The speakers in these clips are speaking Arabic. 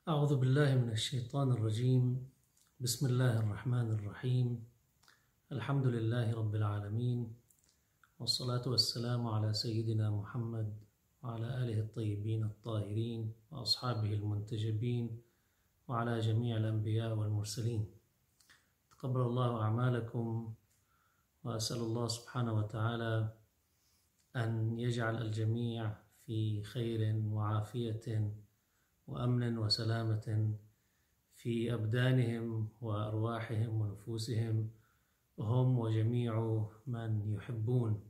أعوذ بالله من الشيطان الرجيم. بسم الله الرحمن الرحيم. الحمد لله رب العالمين، والصلاة والسلام على سيدنا محمد وعلى آله الطيبين الطاهرين وأصحابه المنتجبين وعلى جميع الأنبياء والمرسلين. تقبل الله أعمالكم، وأسأل الله سبحانه وتعالى أن يجعل الجميع في خير وعافية وأمن وسلامة في أبدانهم وأرواحهم ونفوسهم، هم وجميع من يحبون.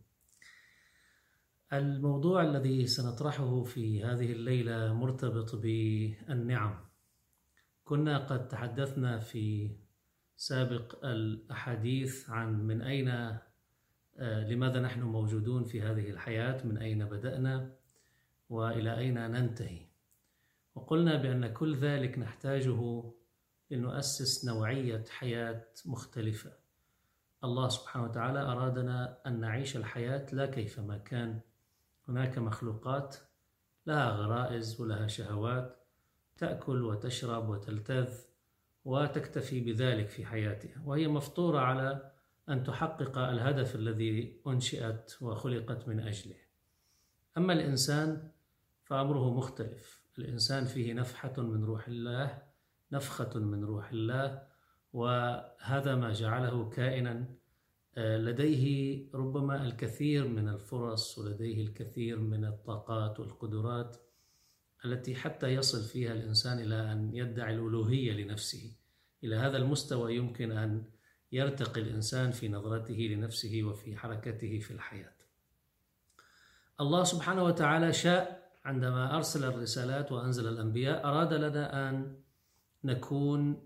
الموضوع الذي سنطرحه في هذه الليلة مرتبط بالنعم. كنا قد تحدثنا في سابق الأحاديث عن من أين لماذا نحن موجودون في هذه الحياة، من أين بدأنا وإلى أين ننتهي، وقلنا بأن كل ذلك نحتاجه لنؤسس نوعية حياة مختلفة. الله سبحانه وتعالى أرادنا أن نعيش الحياة لا كيفما كان. هناك مخلوقات لها غرائز ولها شهوات، تأكل وتشرب وتلتذ وتكتفي بذلك في حياتها، وهي مفطورة على أن تحقق الهدف الذي أنشئت وخلقت من أجله. أما الإنسان فأمره مختلف. الإنسان فيه نفحة من روح الله، نفخة من روح الله، وهذا ما جعله كائنا لديه ربما الكثير من الفرص ولديه الكثير من الطاقات والقدرات التي حتى يصل فيها الإنسان إلى أن يدعي الألوهية لنفسه. إلى هذا المستوى يمكن أن يرتقي الإنسان في نظرته لنفسه وفي حركته في الحياة. الله سبحانه وتعالى شاء عندما أرسل الرسالات وأنزل الأنبياء، أراد لنا أن نكون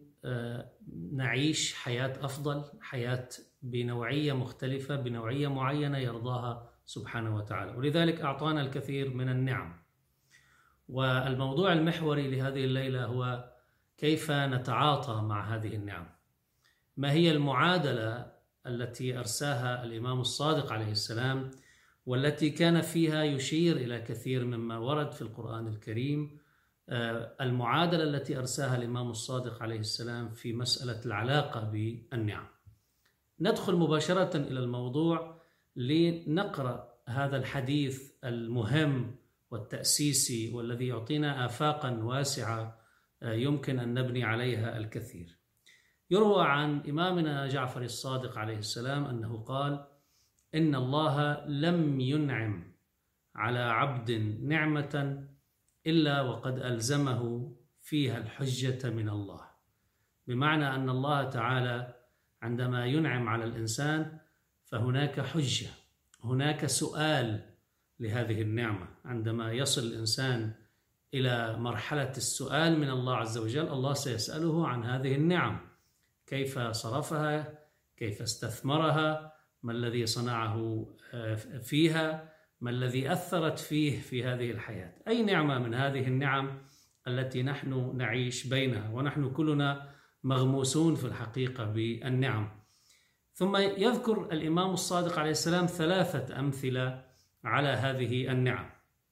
نعيش حياة أفضل، حياة بنوعية مختلفة، بنوعية معينة يرضاها سبحانه وتعالى، ولذلك أعطانا الكثير من النعم. والموضوع المحوري لهذه الليلة هو كيف نتعاطى مع هذه النعم. ما هي المعادلة التي أرساها الإمام الصادق عليه السلام، والتي كان فيها يشير إلى كثير مما ورد في القرآن الكريم، المعادلة التي أرساها الإمام الصادق عليه السلام في مسألة العلاقة بالنعم. ندخل مباشرة إلى الموضوع لنقرأ هذا الحديث المهم والتأسيسي والذي يعطينا آفاقا واسعة يمكن أن نبني عليها الكثير. يروى عن إمامنا جعفر الصادق عليه السلام أنه قال: إن الله لم ينعم على عبد نعمة إلا وقد ألزمه فيها الحجة من الله. بمعنى أن الله تعالى عندما ينعم على الإنسان فهناك حجة، هناك سؤال لهذه النعمة. عندما يصل الإنسان إلى مرحلة السؤال من الله عز وجل، الله سيسأله عن هذه النعم، كيف صرفها، كيف استثمرها، ما الذي صنعه فيها، ما الذي أثرت فيه في هذه الحياة. أي نعمة من هذه النعم التي نحن نعيش بينها، ونحن كلنا مغموسون في الحقيقة بالنعم. ثم يذكر الإمام الصادق عليه السلام 3 أمثلة على هذه النعم.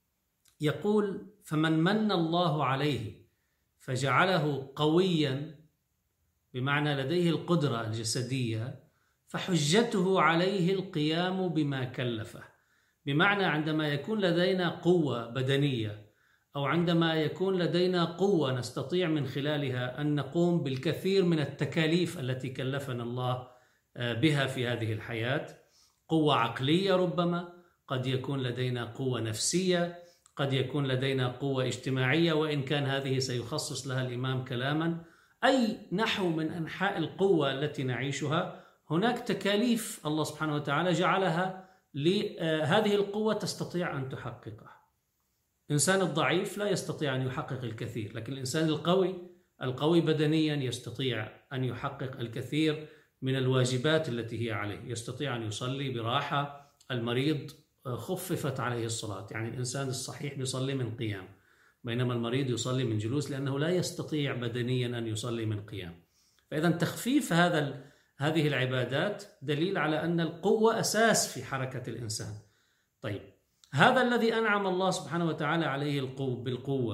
يقول: فمن من الله عليه فجعله قويا، بمعنى لديه القدرة الجسدية، فحجته عليه القيام بما كلفه. بمعنى عندما يكون لدينا قوة بدنية، أو عندما يكون لدينا قوة نستطيع من خلالها أن نقوم بالكثير من التكاليف التي كلفنا الله بها في هذه الحياة، قوة عقلية، ربما قد يكون لدينا قوة نفسية، قد يكون لدينا قوة اجتماعية، وإن كان هذه سيخصص لها الإمام كلاما. أي نحو من أنحاء القوة التي نعيشها، هناك تكاليف الله سبحانه وتعالى جعلها لهذه القوة تستطيع أن تحققها. الإنسان الضعيف لا يستطيع أن يحقق الكثير، لكن الإنسان القوي بدنيا يستطيع أن يحقق الكثير من الواجبات التي هي عليه. يستطيع أن يصلي براحة. المريض خففت عليه الصلاة، يعني الإنسان الصحيح يصلي من قيام، بينما المريض يصلي من جلوس لأنه لا يستطيع بدنيا أن يصلي من قيام. فإذا تخفيف هذه العبادات دليل على أن القوة أساس في حركة الإنسان. طيب، هذا الذي أنعم الله سبحانه وتعالى عليه بالقوة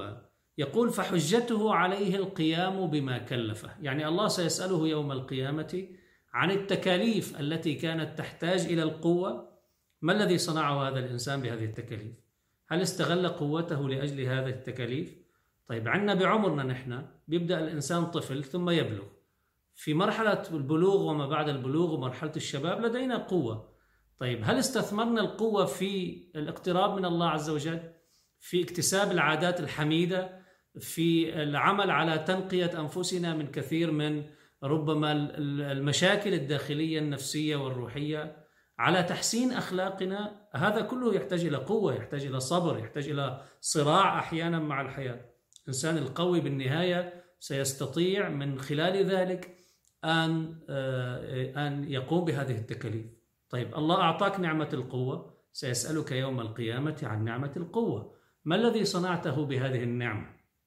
يقول فحجته عليه القيام بما كلفه، يعني الله سيسأله يوم القيامة عن التكاليف التي كانت تحتاج إلى القوة. ما الذي صنعه هذا الإنسان بهذه التكاليف؟ هل استغل قوته لأجل هذه التكاليف؟ طيب عندنا بعمرنا نحن بيبدأ الإنسان طفل ثم يبلغ، في مرحلة البلوغ وما بعد البلوغ ومرحلة الشباب لدينا قوة. طيب هل استثمرنا القوة في الاقتراب من الله عز وجل، في اكتساب العادات الحميدة، في العمل على تنقية أنفسنا من كثير من ربما المشاكل الداخلية النفسية والروحية، على تحسين أخلاقنا؟ هذا كله يحتاج إلى قوة، يحتاج إلى صبر، يحتاج إلى صراع أحيانا مع الحياة. الإنسان القوي بالنهاية سيستطيع من خلال ذلك أن يقوم بهذه التكاليف. طيب الله أعطاك نعمة القوة، سيسألك يوم القيامة عن نعمة القوة، ما الذي صنعته بهذه النعمة؟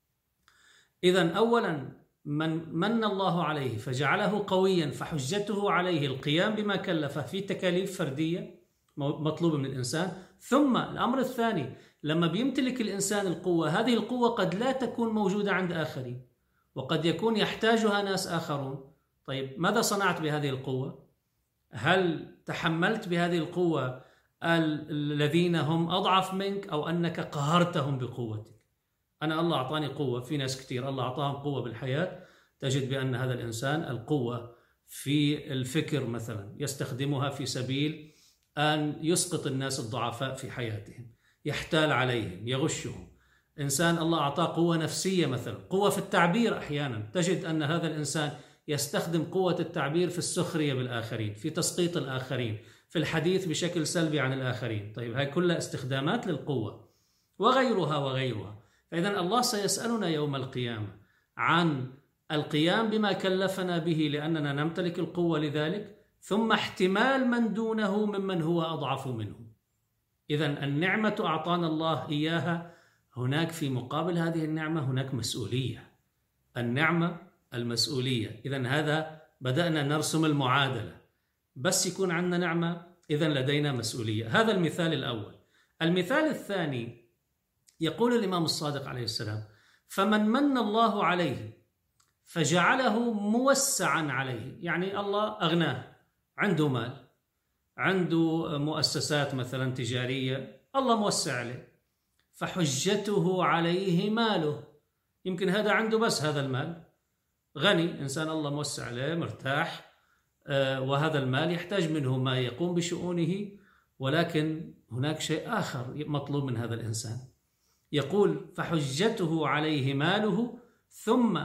إذن أولا من الله عليه فجعله قويا فحجته عليه القيام بما كلفه في تكاليف فردية مطلوبة من الإنسان. ثم الأمر الثاني، لما بيمتلك الإنسان القوة، هذه القوة قد لا تكون موجودة عند آخرين، وقد يكون يحتاجها ناس آخرون. طيب ماذا صنعت بهذه القوة؟ هل تحملت بهذه القوة الذين هم أضعف منك، أو أنك قهرتهم بقوتك؟ أنا الله أعطاني قوة، في ناس كتير الله أعطاهم قوة بالحياة، تجد بأن هذا الإنسان القوة في الفكر مثلا يستخدمها في سبيل أن يسقط الناس الضعفاء في حياتهم، يحتال عليهم، يغشهم. إنسان الله أعطاه قوة نفسية مثلا، قوة في التعبير، أحيانا تجد أن هذا الإنسان يستخدم قوة التعبير في السخرية بالآخرين، في تسقيط الآخرين، في الحديث بشكل سلبي عن الآخرين. طيب هاي كلها استخدامات للقوة وغيرها وغيرها. فإذا الله سيسألنا يوم القيامة عن القيام بما كلفنا به لأننا نمتلك القوة لذلك، ثم احتمال من دونه ممن هو أضعف منه. إذن النعمة أعطانا الله إياها، هناك في مقابل هذه النعمة هناك مسؤولية. النعمة المسؤولية. إذن هذا بدأنا نرسم المعادلة، بس يكون عندنا نعمة إذن لدينا مسؤولية. هذا المثال الأول. المثال الثاني يقول الإمام الصادق عليه السلام: فمن من الله عليه فجعله موسعا عليه، يعني الله أغناه، عنده مال، عنده مؤسسات مثلا تجارية، الله موسع عليه، فحجته عليه ماله. يمكن هذا عنده بس هذا المال، غني، إنسان الله موسع عليه، مرتاح، وهذا المال يحتاج منه ما يقوم بشؤونه، ولكن هناك شيء آخر مطلوب من هذا الإنسان. يقول: فحجته عليه ماله ثم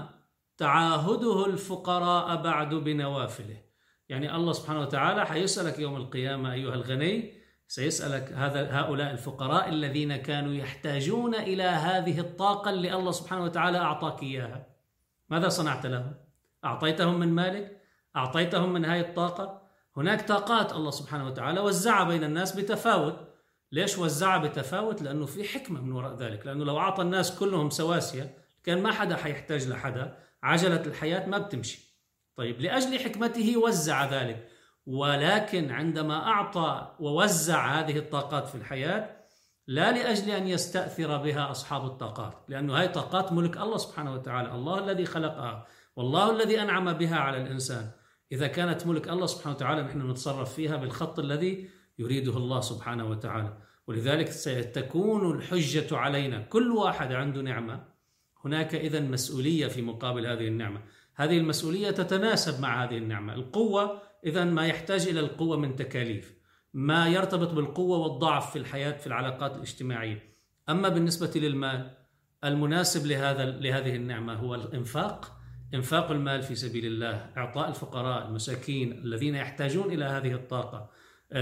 تعاهده الفقراء بعد بنوافله. يعني الله سبحانه وتعالى حيسألك يوم القيامة أيها الغني، سيسألك هؤلاء الفقراء الذين كانوا يحتاجون إلى هذه الطاقة اللي الله سبحانه وتعالى أعطاك إياها، ماذا صنعت لهم؟ أعطيتهم من مالك؟ أعطيتهم من هذه الطاقة؟ هناك طاقات الله سبحانه وتعالى وزعها بين الناس بتفاوت. ليش وزعها بتفاوت؟ لأنه في حكمة من وراء ذلك، لأنه لو أعطى الناس كلهم سواسية كان ما حدا حيحتاج لحدا، عجلة الحياة ما بتمشي. طيب لأجل حكمته وزع ذلك، ولكن عندما أعطى ووزع هذه الطاقات في الحياة لا لأجل أن يستأثر بها أصحاب الطاقات، لأنه هذه طاقات ملك الله سبحانه وتعالى، الله الذي خلقها والله الذي أنعم بها على الإنسان. إذا كانت ملك الله سبحانه وتعالى نحن نتصرف فيها بالخط الذي يريده الله سبحانه وتعالى. ولذلك ستكون الحجة علينا، كل واحد عنده نعمة، هناك إذن مسؤولية في مقابل هذه النعمة. هذه المسؤولية تتناسب مع هذه النعمة. القوة إذن ما يحتاج إلى القوة من تكاليف، ما يرتبط بالقوة والضعف في الحياة في العلاقات الاجتماعية. أما بالنسبة للمال، المناسب لهذه النعمة هو الإنفاق، إنفاق المال في سبيل الله، إعطاء الفقراء المساكين الذين يحتاجون إلى هذه الطاقة،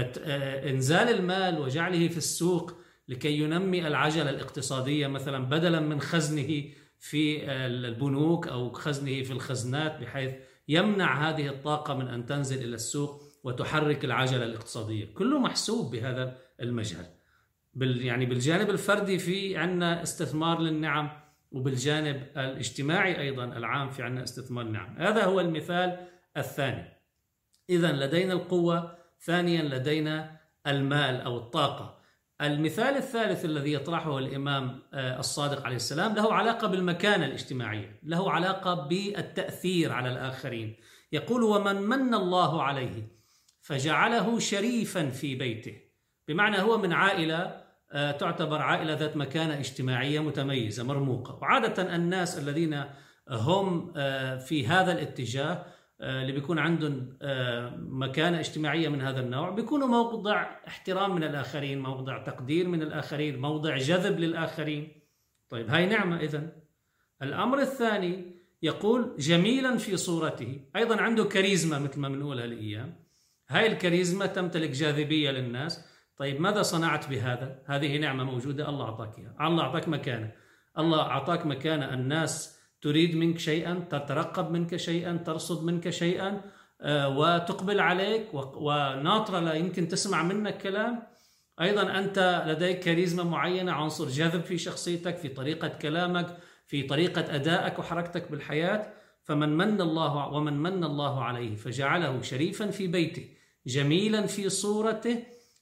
إنزال المال وجعله في السوق لكي ينمي العجلة الاقتصادية، مثلا بدلا من خزنه في البنوك أو خزنه في الخزنات، بحيث يمنع هذه الطاقة من أن تنزل إلى السوق وتحرك العجلة الاقتصادية. كله محسوب بهذا المجال. يعني بالجانب الفردي في عنا استثمار للنعم، وبالجانب الاجتماعي أيضا العام في عنا استثمار النعم. هذا هو المثال الثاني. إذن لدينا القوة، ثانيا لدينا المال أو الطاقة. المثال الثالث الذي يطرحه الإمام الصادق عليه السلام له علاقة بالمكانة الاجتماعية، له علاقة بالتأثير على الآخرين. يقول: ومن من الله عليه فجعله شريفا في بيته، بمعنى هو من عائلة تعتبر عائلة ذات مكانة اجتماعية متميزة مرموقة. وعادة الناس الذين هم في هذا الاتجاه اللي بيكون عندهم مكانة اجتماعية من هذا النوع بيكونوا موضع احترام من الآخرين، موضع تقدير من الآخرين، موضع جذب للآخرين. طيب هاي نعمة. إذن الأمر الثاني يقول: جميلا في صورته، أيضا عنده كاريزما مثل ما بنقول هالأيام. هاي الكاريزما تمتلك جاذبية للناس. طيب ماذا صنعت بهذا؟ هذه نعمة موجودة، الله أعطاك إياها، الله أعطاك مكانة، الله أعطاك مكانة. الناس تريد منك شيئا، تترقب منك شيئا، ترصد منك شيئا، وتقبل عليك وناطرة لا يمكن تسمع منك كلام. أيضا أنت لديك كاريزما معينة، عنصر جذب في شخصيتك، في طريقة كلامك، في طريقة أدائك وحركتك بالحياة. ومن من الله عليه فجعله شريفا في بيته جميلا في صورته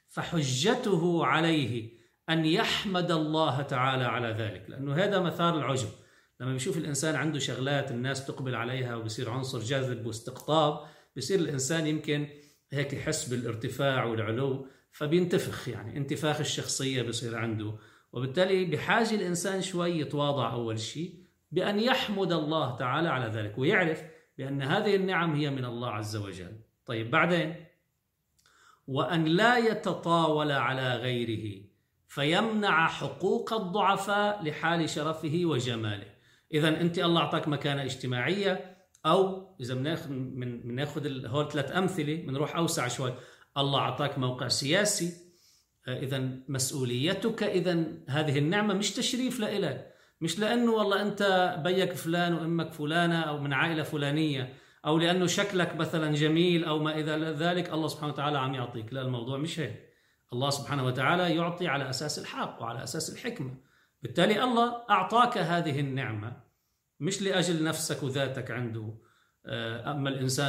فحجته عليه أن يحمد الله تعالى على ذلك، لأنه هذا مثار العجب. لما بيشوف الإنسان عنده شغلات الناس تقبل عليها وبصير عنصر جاذب واستقطاب، بصير الإنسان يمكن هيك يحس بالارتفاع والعلو، فبينتفخ، يعني انتفاخ الشخصية بصير عنده. وبالتالي بحاجة الإنسان شوي يتواضع أول شيء بأن يحمد الله تعالى على ذلك، ويعرف بأن هذه النعم هي من الله عز وجل. طيب بعدين: وأن لا يتطاول على غيره فيمنع حقوق الضعفاء لحال شرفه وجماله. إذن أنت الله أعطاك مكانة اجتماعية، أو إذا بناخذ هول 3 أمثلة بنروح أوسع شوي، الله أعطاك موقع سياسي، إذن مسؤوليتك، إذن هذه النعمة مش تشريف لإلك، مش لأنه والله أنت بيك فلان وأمك فلانة أو من عائلة فلانية، أو لأنه شكلك مثلا جميل أو ما إذا ذلك الله سبحانه وتعالى عم يعطيك. لا، الموضوع مش هيك. الله سبحانه وتعالى يعطي على أساس الحق وعلى أساس الحكمة. بالتالي الله أعطاك هذه النعمة مش لأجل نفسك وذاتك عنده. فأما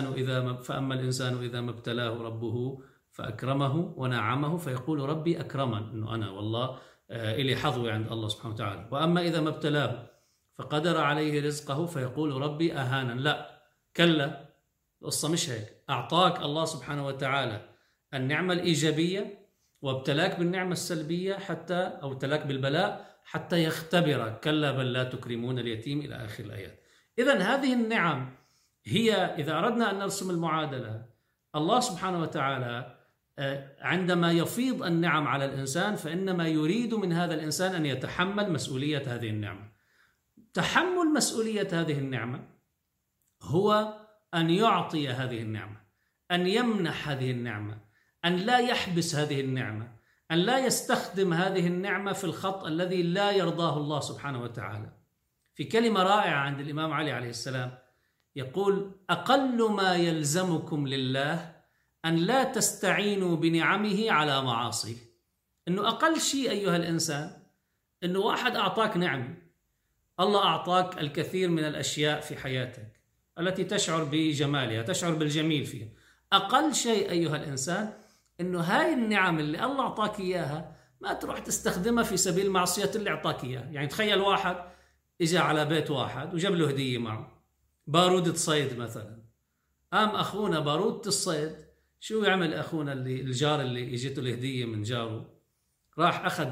الإنسان إذا ما ابتلاه ربه فأكرمه ونعمه فيقول ربي أكرمن، إنه أنا والله إلي حظوة عند الله سبحانه وتعالى. وأما إذا ما ابتلاه فقدر عليه رزقه فيقول ربي أهانن. لا، كلا، القصة مش هيك. أعطاك الله سبحانه وتعالى النعمة الإيجابية وابتلاك بالنعمة السلبية أو ابتلاك بالبلاء حتى يختبرك. كلا بل لا تكرمون اليتيم إلى آخر الآيات. إذن هذه النعم هي، إذا أردنا أن نرسم المعادلة، الله سبحانه وتعالى عندما يفيض النعم على الإنسان فإنما يريد من هذا الإنسان أن يتحمل مسؤولية هذه النعمة. تحمل مسؤولية هذه النعمة هو أن يعطي هذه النعمة، أن يمنح هذه النعمة، أن لا يحبس هذه النعمة، أن لا يستخدم هذه النعمة في الخط الذي لا يرضاه الله سبحانه وتعالى. في كلمة رائعة عند الإمام علي عليه السلام يقول: أقل ما يلزمكم لله أن لا تستعينوا بنعمه على معاصيه. إنه أقل شيء أيها الإنسان إنه واحد أعطاك نعمة، الله أعطاك الكثير من الأشياء في حياتك التي تشعر بجمالها، تشعر بالجميل فيها. أقل شيء أيها الإنسان إنه هاي النعم اللي الله أعطاك إياها ما تروح تستخدمها في سبيل معصية اللي أعطاك إياها. يعني تخيل واحد إجا على بيت واحد وجاب له هدية معه، بارودة صيد مثلا. قام أخونا بارودة الصيد، شو يعمل أخونا الجار اللي إجته الهدية من جاره؟ راح أخذ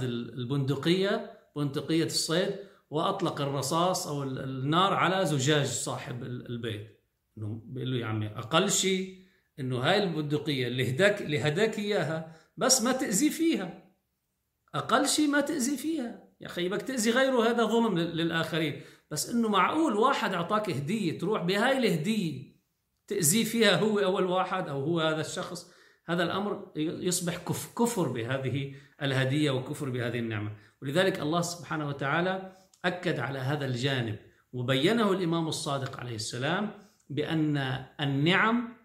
بندقية الصيد وأطلق الرصاص أو النار على زجاج صاحب البيت. إنه بيقول له: يا عمي، أقل شيء إنه هاي البندقية اللي هداك إياها بس ما تأذي فيها، أقل شيء ما تأذي فيها. يا أخي بدك تأذي غيره، هذا ظلم للآخرين. بس إنه معقول واحد أعطاك هدية تروح بهاي الهدية تأذي فيها هو أول واحد أو هو هذا الشخص؟ هذا الأمر يصبح كفر بهذه الهدية وكفر بهذه النعمة. ولذلك الله سبحانه وتعالى أكد على هذا الجانب وبينه الإمام الصادق عليه السلام بأن النعم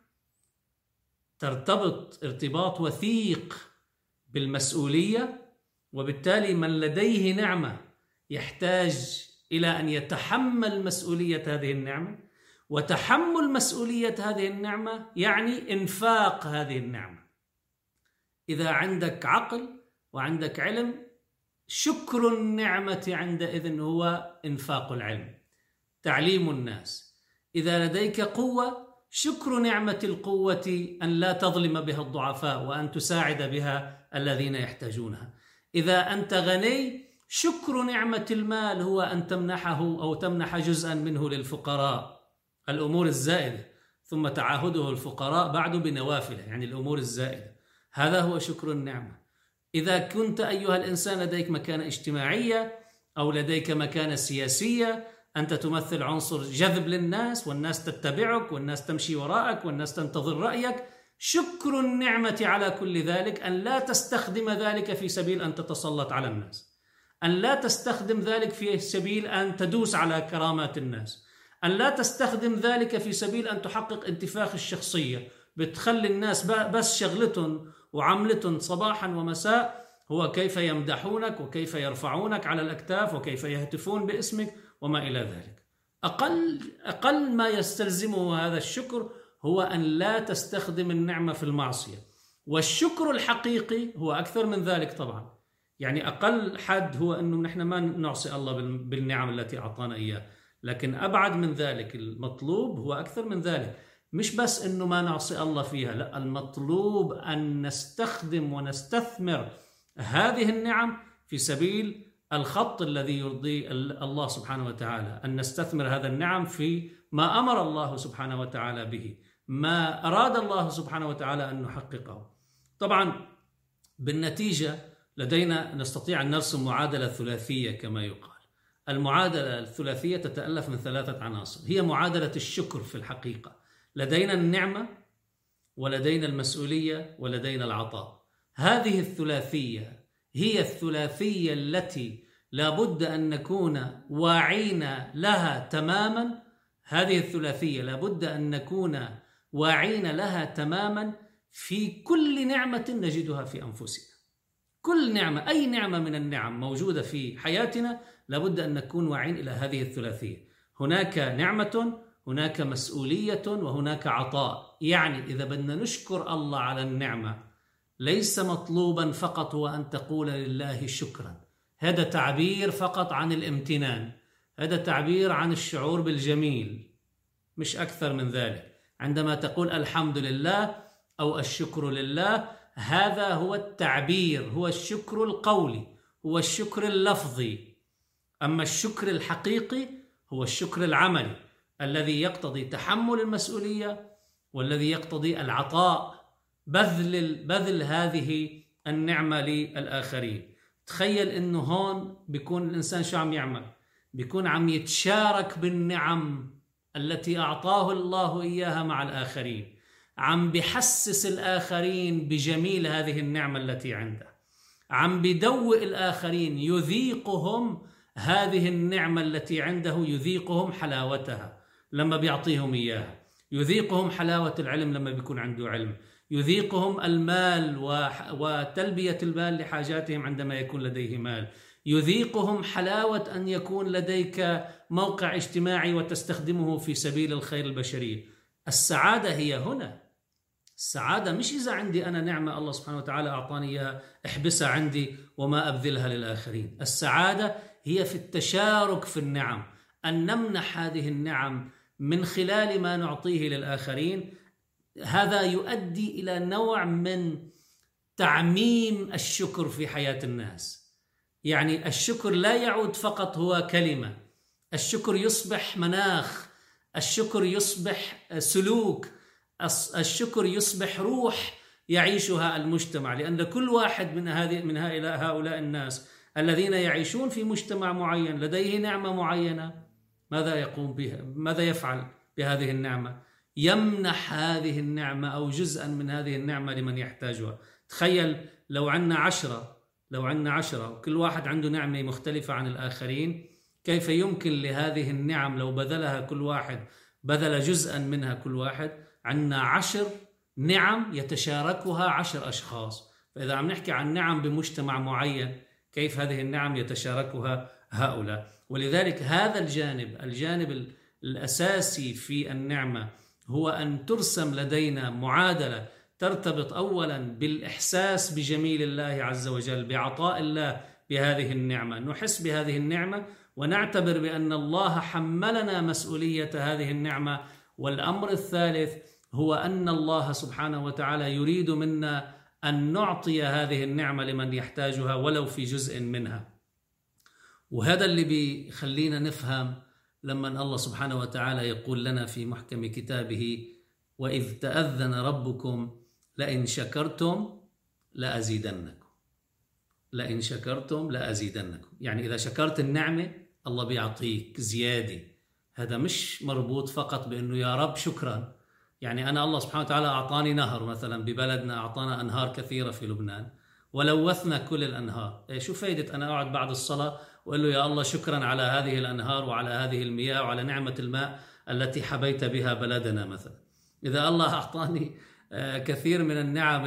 ترتبط ارتباط وثيق بالمسؤولية، وبالتالي من لديه نعمة يحتاج إلى أن يتحمل مسؤولية هذه النعمة، وتحمل مسؤولية هذه النعمة يعني إنفاق هذه النعمة. إذا عندك عقل وعندك علم، شكر النعمة عندئذ هو إنفاق العلم، تعليم الناس. إذا لديك قوة، شكر نعمة القوة أن لا تظلم بها الضعفاء وأن تساعد بها الذين يحتاجونها. إذا أنت غني، شكر نعمة المال هو أن تمنحه أو تمنح جزءا منه للفقراء، الأمور الزائدة، ثم تعاهده الفقراء بعد بنوافله، يعني الأمور الزائدة. هذا هو شكر النعمة. إذا كنت أيها الإنسان لديك مكانة اجتماعية أو لديك مكانة سياسية، أنت تمثل عنصر جذب للناس، والناس تتبعك، والناس تمشي وراءك، والناس تنتظر رأيك، شكر النعمة على كل ذلك أن لا تستخدم ذلك في سبيل أن تتسلط على الناس، أن لا تستخدم ذلك في سبيل أن تدوس على كرامات الناس، أن لا تستخدم ذلك في سبيل أن تحقق انتفاخ الشخصية، بتخلي الناس بس شغلتهم وعملتهم صباحا ومساء هو كيف يمدحونك وكيف يرفعونك على الأكتاف وكيف يهتفون باسمك وما إلى ذلك. أقل ما يستلزمه هذا الشكر هو أن لا تستخدم النعمة في المعصية. والشكر الحقيقي هو أكثر من ذلك طبعا، يعني أقل حد هو أنه نحن ما نعصي الله بالنعم التي أعطانا إياه، لكن أبعد من ذلك المطلوب هو أكثر من ذلك. مش بس أنه ما نعصي الله فيها، لا، المطلوب أن نستخدم ونستثمر هذه النعم في سبيل الخط الذي يرضي الله سبحانه وتعالى، أن نستثمر هذا النعم في ما أمر الله سبحانه وتعالى به، ما أراد الله سبحانه وتعالى أن نحققه. طبعا بالنتيجة لدينا نستطيع أن نرسم معادلة ثلاثية كما يقال. المعادلة الثلاثية تتألف من 3 عناصر، هي معادلة الشكر في الحقيقة. لدينا النعمة، ولدينا المسؤولية، ولدينا العطاء. هذه الثلاثية هي الثلاثية التي لابد أن نكون واعين لها تماما. هذه الثلاثية لابد أن نكون واعين لها تماما في كل نعمة نجدها في أنفسنا. كل نعمة، أي نعمة من النعم موجودة في حياتنا، لابد أن نكون واعين إلى هذه الثلاثية. هناك نعمة، هناك مسؤولية، وهناك عطاء. يعني إذا بدنا نشكر الله على النعمة، ليس مطلوبا فقط هو أن تقول لله شكرا، هذا تعبير فقط عن الامتنان، هذا تعبير عن الشعور بالجميل، مش أكثر من ذلك. عندما تقول الحمد لله أو الشكر لله، هذا هو التعبير، هو الشكر القولي، هو الشكر اللفظي. أما الشكر الحقيقي هو الشكر العملي الذي يقتضي تحمل المسؤولية، والذي يقتضي العطاء، بذل هذه النعمة للآخرين. تخيل إنه هون بيكون الإنسان شو عم يعمل؟ بيكون عم يتشارك بالنعم التي أعطاه الله إياها مع الآخرين، عم بيحسس الآخرين بجميل هذه النعمة التي عنده، عم بيدوق الآخرين، يذيقهم هذه النعمة التي عنده، يذيقهم حلاوتها لما بيعطيهم إياها، يذيقهم حلاوة العلم لما بيكون عنده علم، يذيقهم المال وتلبية المال لحاجاتهم عندما يكون لديه مال، يذيقهم حلاوة أن يكون لديك موقع اجتماعي وتستخدمه في سبيل الخير البشري. السعادة هي هنا. السعادة مش إذا عندي أنا نعمة الله سبحانه وتعالى أعطاني إياها احبسها عندي وما أبذلها للآخرين. السعادة هي في التشارك في النعم، أن نمنح هذه النعم من خلال ما نعطيه للآخرين. هذا يؤدي إلى نوع من تعميم الشكر في حياة الناس. يعني الشكر لا يعود فقط هو كلمة، الشكر يصبح مناخ، الشكر يصبح سلوك، الشكر يصبح روح يعيشها المجتمع. لأن كل واحد من هؤلاء الناس الذين يعيشون في مجتمع معين لديه نعمة معينة، ماذا يقوم بها؟ ماذا يفعل بهذه النعمة؟ يمنح هذه النعمة أو جزءا من هذه النعمة لمن يحتاجها. تخيل لو عندنا 10 وكل واحد عنده نعمة مختلفة عن الآخرين، كيف يمكن لهذه النعم لو بذلها كل واحد، بذل جزءا منها كل واحد، عندنا 10 نعم يتشاركها 10 أشخاص. فإذا عم نحكي عن نعم بمجتمع معين، كيف هذه النعم يتشاركها هؤلاء؟ ولذلك هذا الجانب الأساسي في النعمة هو أن ترسم لدينا معادلة ترتبط أولا بالإحساس بجميل الله عز وجل، بعطاء الله بهذه النعمة، نحس بهذه النعمة ونعتبر بأن الله حملنا مسؤولية هذه النعمة. والأمر الثالث هو أن الله سبحانه وتعالى يريد منا أن نعطي هذه النعمة لمن يحتاجها ولو في جزء منها. وهذا اللي بيخلينا نفهم لما الله سبحانه وتعالى يقول لنا في محكم كتابه: وإذ تأذن ربكم لئن شكرتم لأزيدنكم. لئن شكرتم لأزيدنكم، يعني إذا شكرت النعمة الله بيعطيك زيادة. هذا مش مربوط فقط بأنه يا رب شكرا، يعني أنا الله سبحانه وتعالى أعطاني نهر مثلا ببلدنا، أعطانا أنهار كثيرة في لبنان ولوثنا كل الأنهار، شو فايدة أنا أقعد بعد الصلاة وقال له يا الله شكرا على هذه الأنهار وعلى هذه المياه وعلى نعمة الماء التي حبيت بها بلدنا مثلا. إذا الله أعطاني كثير من النعم،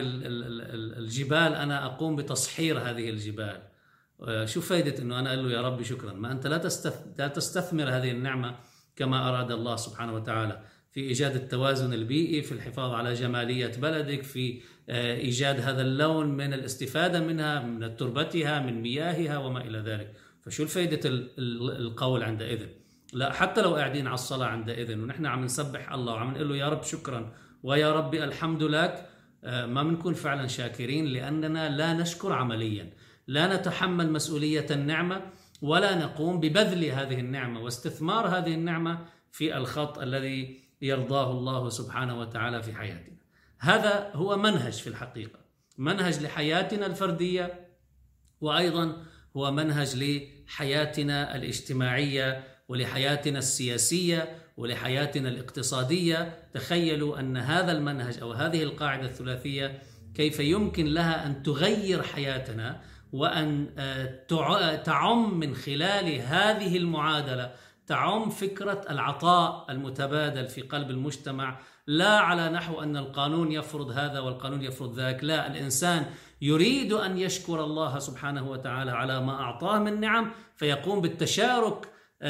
الجبال، أنا أقوم بتصحير هذه الجبال، شو فايدة أنه أنا أقول له يا رب شكرا؟ ما أنت لا تستثمر هذه النعمة كما أراد الله سبحانه وتعالى في إيجاد التوازن البيئي، في الحفاظ على جمالية بلدك، في إيجاد هذا اللون من الاستفادة منها، من تربتها، من مياهها وما إلى ذلك. فشو الفائدة القول عندئذ؟ لا، حتى لو قاعدين على الصلاة عندئذ ونحن عم نسبح الله وعم نقول له يا رب شكرا ويا ربي الحمد لك، ما بنكون فعلا شاكرين، لأننا لا نشكر عمليا، لا نتحمل مسؤولية النعمة ولا نقوم ببذل هذه النعمة واستثمار هذه النعمة في الخط الذي يرضاه الله سبحانه وتعالى في حياتنا. هذا هو منهج في الحقيقة، منهج لحياتنا الفردية، وأيضا هو منهج لحياتنا الاجتماعية ولحياتنا السياسية ولحياتنا الاقتصادية. تخيلوا أن هذا المنهج أو هذه القاعدة الثلاثية كيف يمكن لها أن تغير حياتنا وأن تعم من خلال هذه المعادلة، تعم فكرة العطاء المتبادل في قلب المجتمع، لا على نحو أن القانون يفرض هذا والقانون يفرض ذاك، لا، الإنسان يريد أن يشكر الله سبحانه وتعالى على ما أعطاه من نعم، فيقوم بالتشارك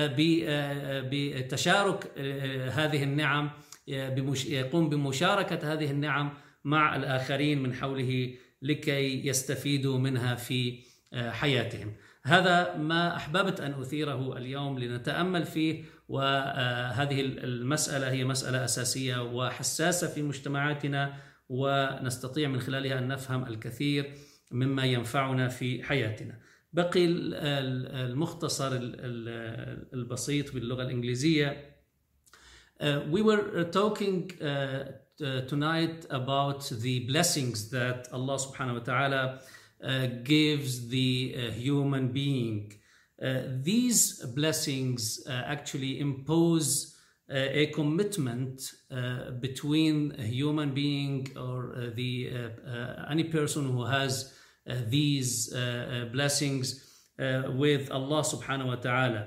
بتشارك هذه النعم، يقوم بمشاركة هذه النعم مع الآخرين من حوله لكي يستفيدوا منها في حياتهم. هذا ما أحببت أن أثيره اليوم لنتأمل فيه، وهذه المسألة هي مسألة أساسية وحساسة في مجتمعاتنا، ونستطيع من خلالها أن نفهم الكثير مما ينفعنا في حياتنا. بقي المختصر البسيط باللغة الإنجليزية. We were talking tonight about the blessings that Allah subhanahu wa ta'ala gives the human being. These blessings actually impose a commitment between a human being or any person who has these blessings with Allah subhanahu wa ta'ala.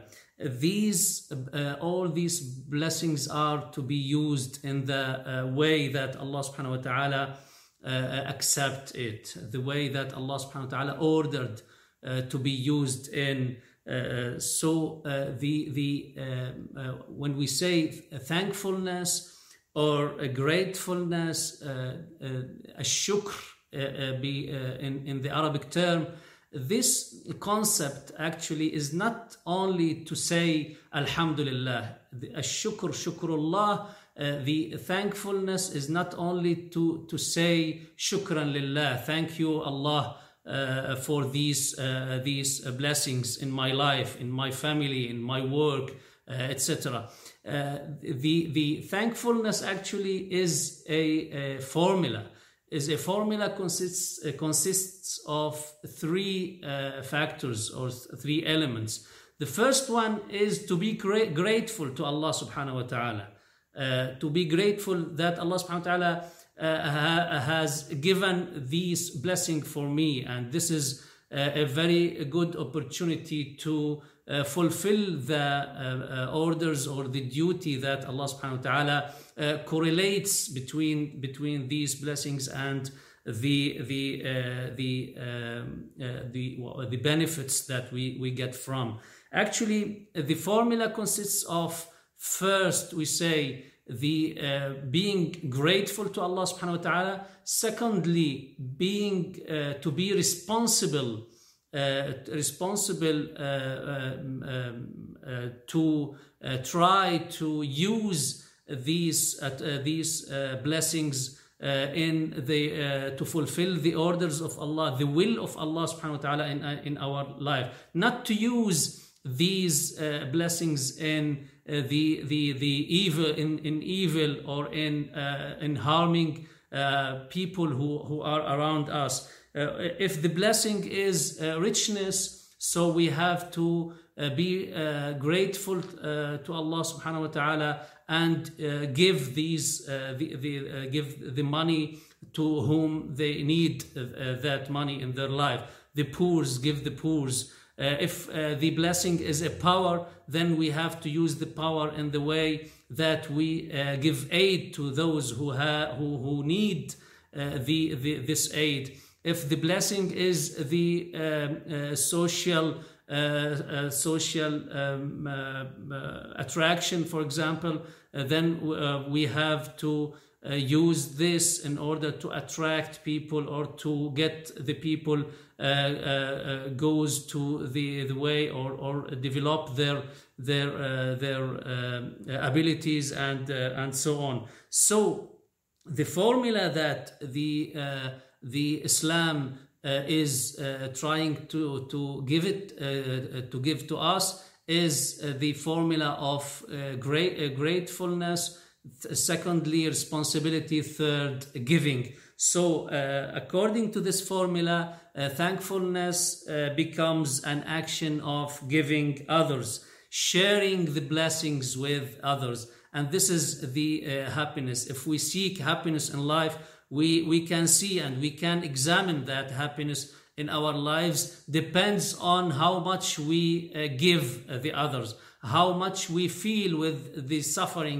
All these blessings are to be used in the way that Allah subhanahu wa ta'ala accept it, the way that Allah subhanahu wa ta'ala ordered to be used in. When we say thankfulness or a gratefulness, a shukr in the Arabic term, this concept actually is not only to say Alhamdulillah, Ash-shukr, Shukrullah, the thankfulness is not only to say Shukran Lillah, thank you Allah for these blessings in my life, in my family, in my work, etc. The thankfulness actually is a formula. Consists of three factors or three elements. The first one is to be grateful to Allah subhanahu wa ta'ala, to be grateful that Allah subhanahu wa ta'ala has given these blessings for me, and this is a very good opportunity to fulfill the orders or the duty that Allah subhanahu wa ta'ala correlates between these blessings and the benefits that we get from. Actually, the formula consists of First, we say the being grateful to Allah subhanahu wa ta'ala. Secondly, being to be responsible to try to use these blessings to fulfill the orders of Allah, the will of Allah subhanahu wa ta'ala in our life. Not to use these blessings in the evil, in evil, or in harming people who are around us. If the blessing is richness, so we have to be grateful to Allah subhanahu wa ta'ala and give give the money to whom they need that money in their life. The poor, give the poor. If the blessing is a power, then we have to use the power in the way that we give aid to those who need this aid. If the blessing is the social attraction, for example, then we have to use this in order to attract people, or to get the people goes to the way, or develop their abilities and so on. So the formula that the Islam is trying to give to us is the formula of gratefulness, secondly responsibility, third giving. So according to this formula, thankfulness becomes an action of giving others, sharing the blessings with others, and this is the happiness. If we seek happiness in life, we can see and we can examine that happiness in our lives depends on how much we give the others, how much we feel with the suffering,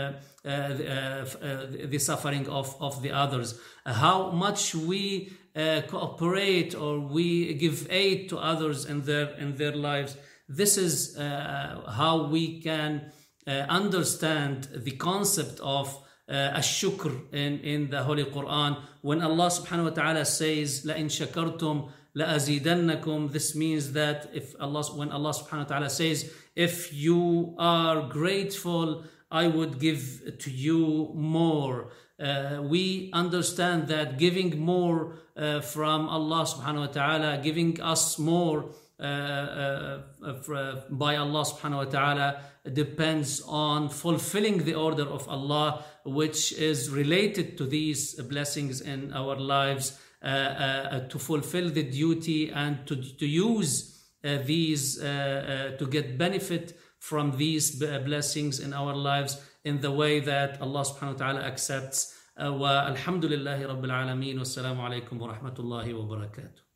the suffering of the others, how much we cooperate or we give aid to others in their lives. This is how we can understand the concept of الشكر in the Holy Quran. When Allah subhanahu wa ta'ala says لَإِن شَكَرْتُمْ لَأَزِيدَنَّكُمْ, this means that when Allah subhanahu wa ta'ala says, if you are grateful, I would give to you more. We understand that giving more from Allah subhanahu wa ta'ala, giving us more by Allah subhanahu wa ta'ala, depends on fulfilling the order of Allah, which is related to these blessings in our lives, to fulfill the duty and to use these to get benefit from these blessings in our lives in the way that Allah subhanahu wa ta'ala accepts. Wa alhamdulillahi rabbil alameen. Wassalamu alaikum wa rahmatullahi wa barakatuh.